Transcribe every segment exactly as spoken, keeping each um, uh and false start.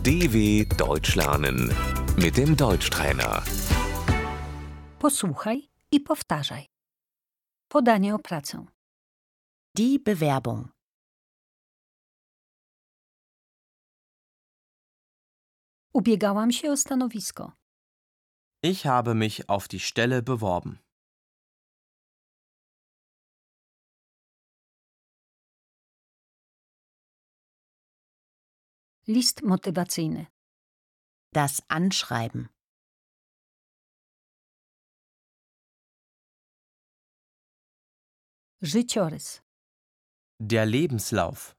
D W Deutsch lernen mit dem Deutschtrainer. Posłuchaj i powtarzaj. Podanie o pracę. Die Bewerbung. Ubiegałam się o stanowisko. Ich habe mich auf die Stelle beworben. List motywacyjny. Das Anschreiben. Życiorys. Der Lebenslauf.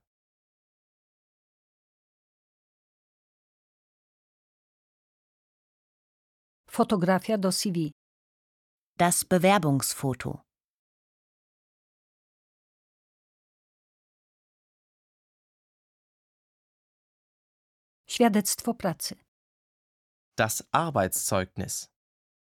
Fotografia do C V. Das Bewerbungsfoto. Świadectwo pracy. Das Arbeitszeugnis.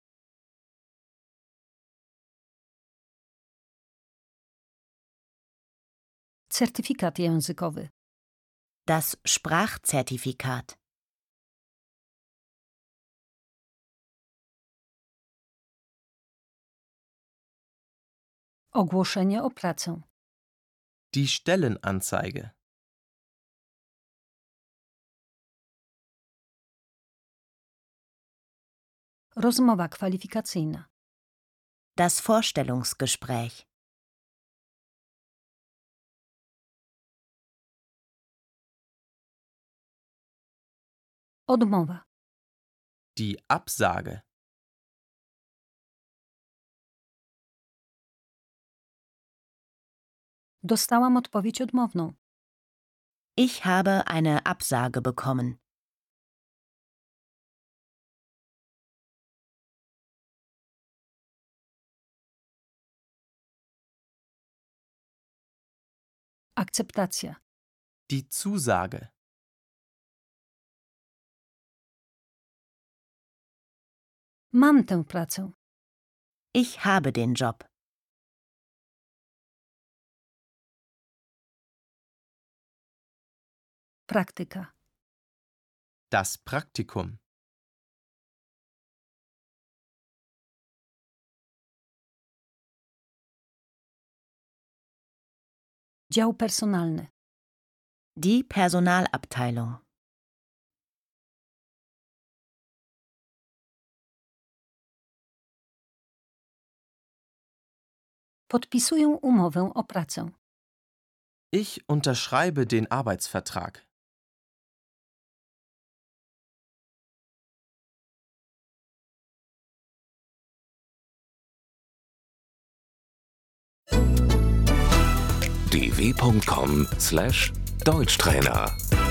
Certyfikat językowy. Das Sprachzertifikat. Ogłoszenie o pracę. Die Stellenanzeige. Rozmowa kwalifikacyjna. Das Vorstellungsgespräch. Odmowa. Die Absage. Dostałam odpowiedź odmowną. Ich habe eine Absage bekommen. Akceptacja. Die Zusage. Mam tę pracę. Ich habe den Job. Praktyka. Das Praktikum. Dział personalny. Die Personalabteilung. Podpisuję umowę o pracę. Ich unterschreibe den Arbeitsvertrag. d w punkt com slash Deutschtrainer